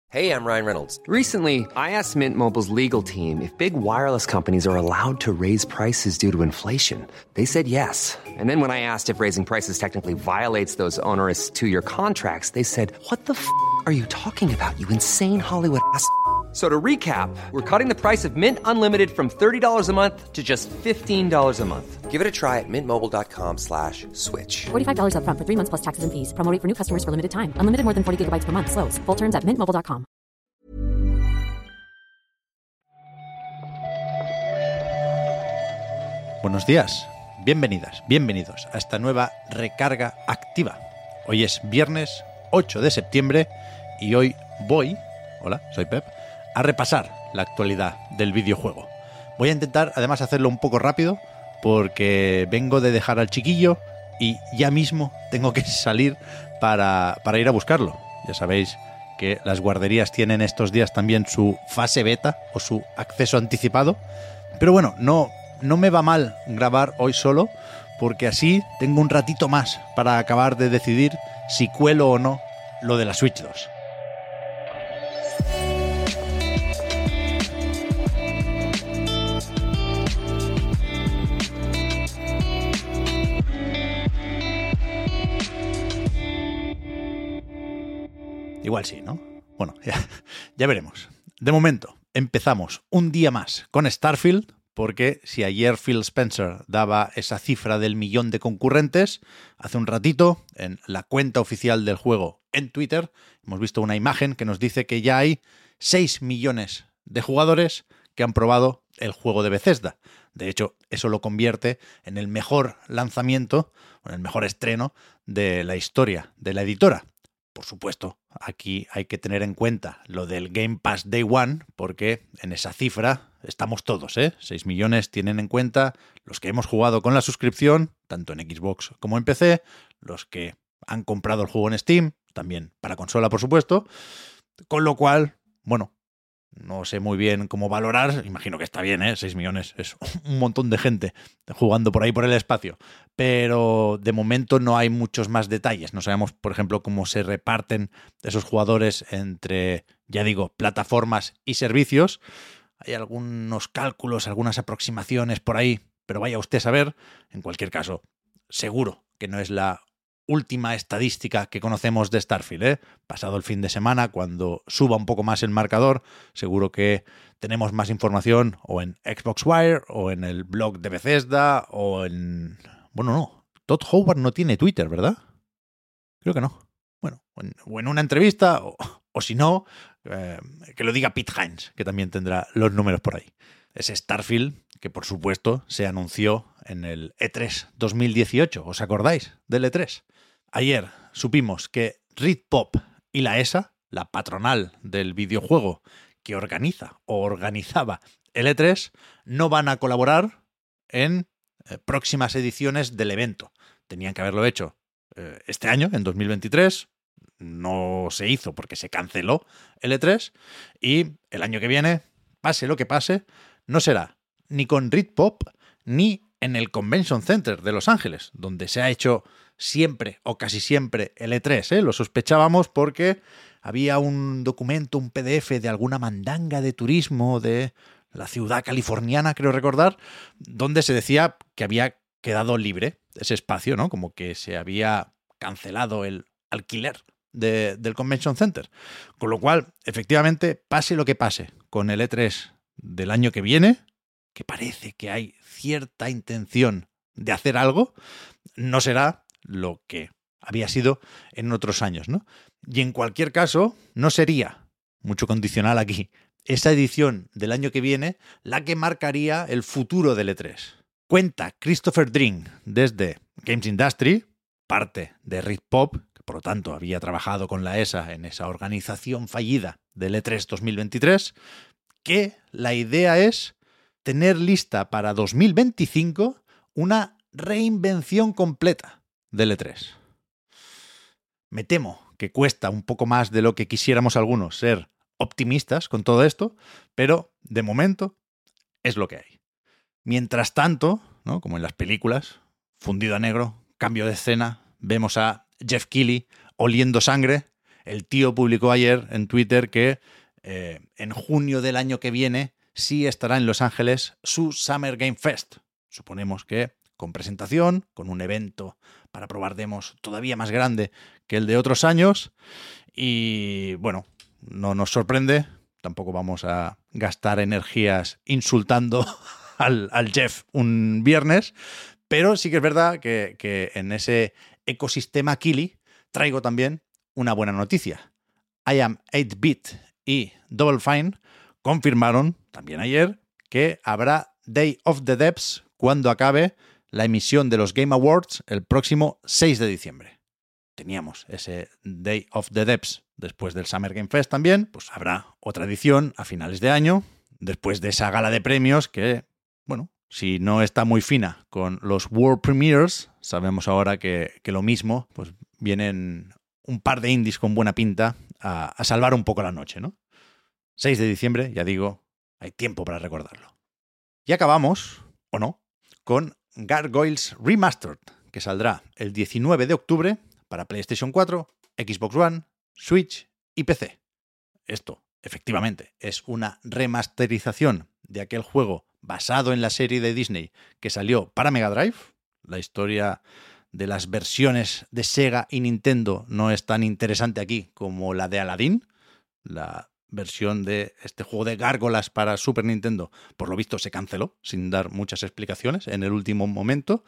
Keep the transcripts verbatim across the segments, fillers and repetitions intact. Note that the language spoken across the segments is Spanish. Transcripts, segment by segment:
Hey, I'm Ryan Reynolds. Recently, I asked Mint Mobile's legal team if big wireless companies are allowed to raise prices due to inflation. They said yes. And then when I asked if raising prices technically violates those onerous two-year contracts, they said, what the f*** are you talking about, you insane Hollywood ass f- So to recap, we're cutting the price of Mint Unlimited from thirty dollars a month to just fifteen dollars a month. Give it a try at mintmobile.com slash switch. forty-five dollars up front for three months plus taxes and fees. Promo rate for new customers for limited time. Unlimited more than forty gigabytes per month. Slows full terms at mint mobile dot com. Buenos días, bienvenidas, bienvenidos a esta nueva recarga activa. Hoy es viernes ocho de septiembre y hoy voy, hola, soy Pep, a repasar la actualidad del videojuego. Voy a intentar además hacerlo un poco rápido porque vengo de dejar al chiquillo y ya mismo tengo que salir para, para ir a buscarlo. Ya sabéis que las guarderías tienen estos días también su fase beta o su acceso anticipado. Pero bueno, no, no me va mal grabar hoy solo porque así tengo un ratito más para acabar de decidir si cuelo o no lo de la Switch dos. Igual sí, ¿no? Bueno, ya, ya veremos. De momento, empezamos un día más con Starfield, porque si ayer Phil Spencer daba esa cifra del millón de concurrentes, hace un ratito, en la cuenta oficial del juego en Twitter, hemos visto una imagen que nos dice que ya hay seis millones de jugadores que han probado el juego de Bethesda. De hecho, eso lo convierte en el mejor lanzamiento, o en el mejor estreno de la historia de la editora. Por supuesto, aquí hay que tener en cuenta lo del Game Pass Day One, porque en esa cifra estamos todos, ¿eh? seis millones tienen en cuenta los que hemos jugado con la suscripción, tanto en Xbox como en P C, los que han comprado el juego en Steam, también para consola, por supuesto, con lo cual, bueno, no sé muy bien cómo valorar, imagino que está bien, ¿eh? seis millones es un montón de gente jugando por ahí por el espacio, pero de momento no hay muchos más detalles. No sabemos, por ejemplo, cómo se reparten esos jugadores entre, ya digo, plataformas y servicios. Hay algunos cálculos, algunas aproximaciones por ahí, pero vaya usted a saber. En cualquier caso, seguro que no es la última estadística que conocemos de Starfield, ¿eh? Pasado el fin de semana, cuando suba un poco más el marcador, seguro que tenemos más información o en Xbox Wire o en el blog de Bethesda o en... Bueno, no. Todd Howard no tiene Twitter, ¿verdad? Creo que no. Bueno, o en, o en una entrevista o, o si no, eh, que lo diga Pete Hines, que también tendrá los números por ahí. Ese Starfield que, por supuesto, se anunció en el E tres dos mil dieciocho. ¿Os acordáis del E tres? Ayer supimos que Ritpop y la E S A, la patronal del videojuego que organiza o organizaba el E tres, no van a colaborar en eh, próximas ediciones del evento. Tenían que haberlo hecho eh, este año, en dos mil veintitrés. No se hizo porque se canceló el E tres. Y el año que viene, pase lo que pase, no será ni con Ritpop ni en el Convention Center de Los Ángeles, donde se ha hecho siempre o casi siempre el E tres, ¿eh? Lo sospechábamos porque había un documento, un P D F de alguna mandanga de turismo de la ciudad californiana, creo recordar, donde se decía que había quedado libre ese espacio, ¿no? Como que se había cancelado el alquiler de, del Convention Center. Con lo cual, efectivamente, pase lo que pase con el E tres del año que viene, que parece que hay cierta intención de hacer algo, no será lo que había sido en otros años, ¿no? Y en cualquier caso, no sería, mucho condicional aquí, esa edición del año que viene la que marcaría el futuro del E tres. Cuenta Christopher Dring desde Games Industry, parte de Ritpop, que por lo tanto había trabajado con la E S A en esa organización fallida del E tres dos mil veintitrés, que la idea es tener lista para dos mil veinticinco una reinvención completa del E tres. Me temo que cuesta un poco más de lo que quisiéramos algunos ser optimistas con todo esto, pero de momento es lo que hay. Mientras tanto, ¿no? Como en las películas, fundido a negro, cambio de escena, vemos a Jeff Keighley oliendo sangre el tío publicó ayer en Twitter que eh, en junio del año que viene sí estará en Los Ángeles su Summer Game Fest. Suponemos que con presentación, con un evento para probar demos todavía más grande que el de otros años. Y bueno, no nos sorprende, tampoco vamos a gastar energías insultando al, al Jeff un viernes, pero sí que es verdad que, que en ese ecosistema Kili traigo también una buena noticia. I Am ocho bit y Double Fine confirmaron también ayer que habrá Day of the Devs cuando acabe la emisión de los Game Awards el próximo seis de diciembre. Teníamos ese Day of the Devs después del Summer Game Fest también, pues habrá otra edición a finales de año, después de esa gala de premios que, bueno, si no está muy fina con los World Premiers, sabemos ahora que, que lo mismo, pues vienen un par de indies con buena pinta a, a salvar un poco la noche, ¿no? seis de diciembre, ya digo, hay tiempo para recordarlo. Y acabamos, o no, con Gargoyles Remastered, que saldrá el diecinueve de octubre para PlayStation cuatro, Xbox One, Switch y P C. Esto, efectivamente, es una remasterización de aquel juego basado en la serie de Disney que salió para Mega Drive. La historia de las versiones de Sega y Nintendo no es tan interesante aquí como la de Aladdin. La versión de este juego de gárgolas para Super Nintendo, por lo visto, se canceló sin dar muchas explicaciones en el último momento.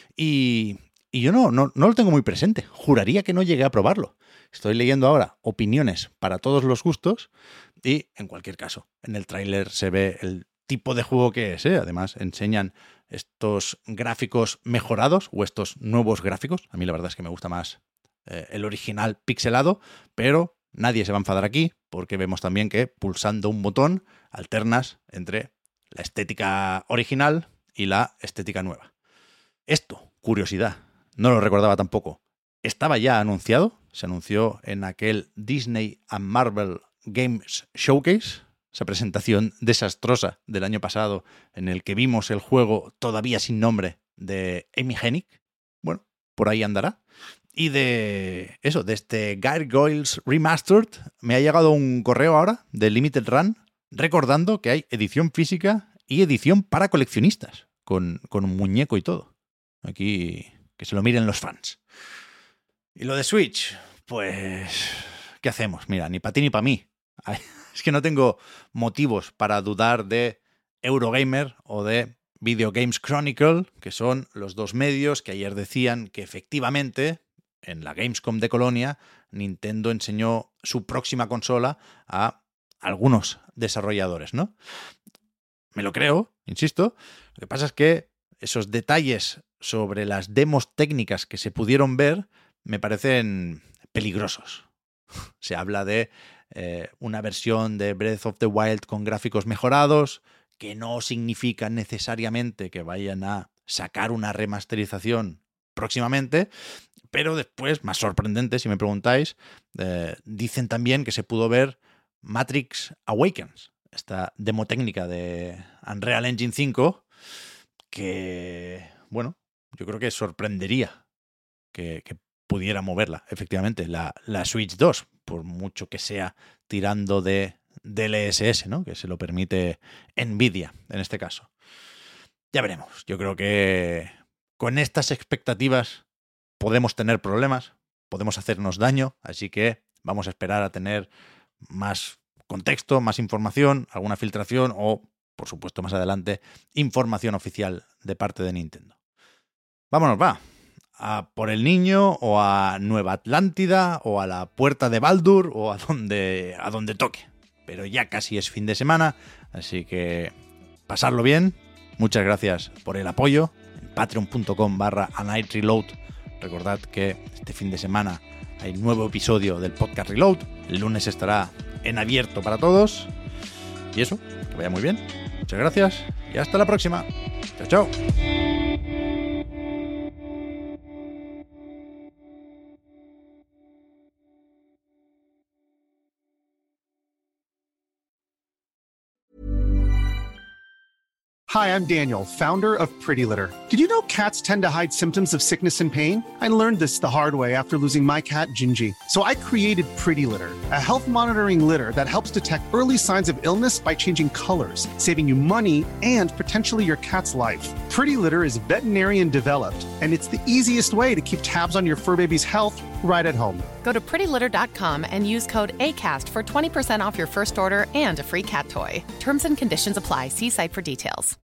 Y, y yo no, no, no lo tengo muy presente. Juraría que no llegué a probarlo. Estoy leyendo ahora opiniones para todos los gustos y, en cualquier caso, en el tráiler se ve el tipo de juego que es, ¿eh? Además, enseñan estos gráficos mejorados o estos nuevos gráficos. A mí la verdad es que me gusta más eh, el original pixelado, pero nadie se va a enfadar aquí porque vemos también que pulsando un botón alternas entre la estética original y la estética nueva. Esto, curiosidad, no lo recordaba tampoco. Estaba ya anunciado, se anunció en aquel Disney and Marvel Games Showcase, esa presentación desastrosa del año pasado en el que vimos el juego todavía sin nombre de Amy Hennig. Bueno, por ahí andará. Y de eso, de este Gargoyles Remastered, me ha llegado un correo ahora de Limited Run recordando que hay edición física y edición para coleccionistas, con, con un muñeco y todo. Aquí que se lo miren los fans. Y lo de Switch, pues, ¿qué hacemos? Mira, ni para ti ni para mí. Es que no tengo motivos para dudar de Eurogamer o de Video Games Chronicle, que son los dos medios que ayer decían que efectivamente en la Gamescom de Colonia Nintendo enseñó su próxima consola a algunos desarrolladores, ¿no? Me lo creo, insisto. Lo que pasa es que esos detalles sobre las demos técnicas que se pudieron ver me parecen peligrosos. Se habla de eh, una versión de Breath of the Wild con gráficos mejorados, que no significa necesariamente que vayan a sacar una remasterización próximamente, pero después, más sorprendente si me preguntáis, eh, dicen también que se pudo ver Matrix Awakens, esta demo técnica de Unreal Engine cinco, que, bueno, yo creo que sorprendería que, que pudiera moverla, efectivamente, la, la Switch dos, por mucho que sea tirando de D L S S, ¿no? Que se lo permite Nvidia, en este caso. Ya veremos. Yo creo que con estas expectativas podemos tener problemas, podemos hacernos daño, así que vamos a esperar a tener más contexto, más información, alguna filtración o, por supuesto, más adelante, información oficial de parte de Nintendo. Vámonos, va. A por el niño, o a Nueva Atlántida, o a la Puerta de Baldur, o a donde, a donde toque. Pero ya casi es fin de semana, así que pasarlo bien. Muchas gracias por el apoyo. En patreon.com barra a night reload. Recordad que este fin de semana hay nuevo episodio del podcast Reload. El lunes estará en abierto para todos. Y eso, que vaya muy bien. Muchas gracias y hasta la próxima. Chao, chao. Hi, I'm Daniel, founder of Pretty Litter. Did you know cats tend to hide symptoms of sickness and pain? I learned this the hard way after losing my cat, Gingy. So I created Pretty Litter, a health monitoring litter that helps detect early signs of illness by changing colors, saving you money and potentially your cat's life. Pretty Litter is veterinarian developed, and it's the easiest way to keep tabs on your fur baby's health right at home. Go to pretty litter dot com and use code ACAST for twenty percent off your first order and a free cat toy. Terms and conditions apply. See site for details.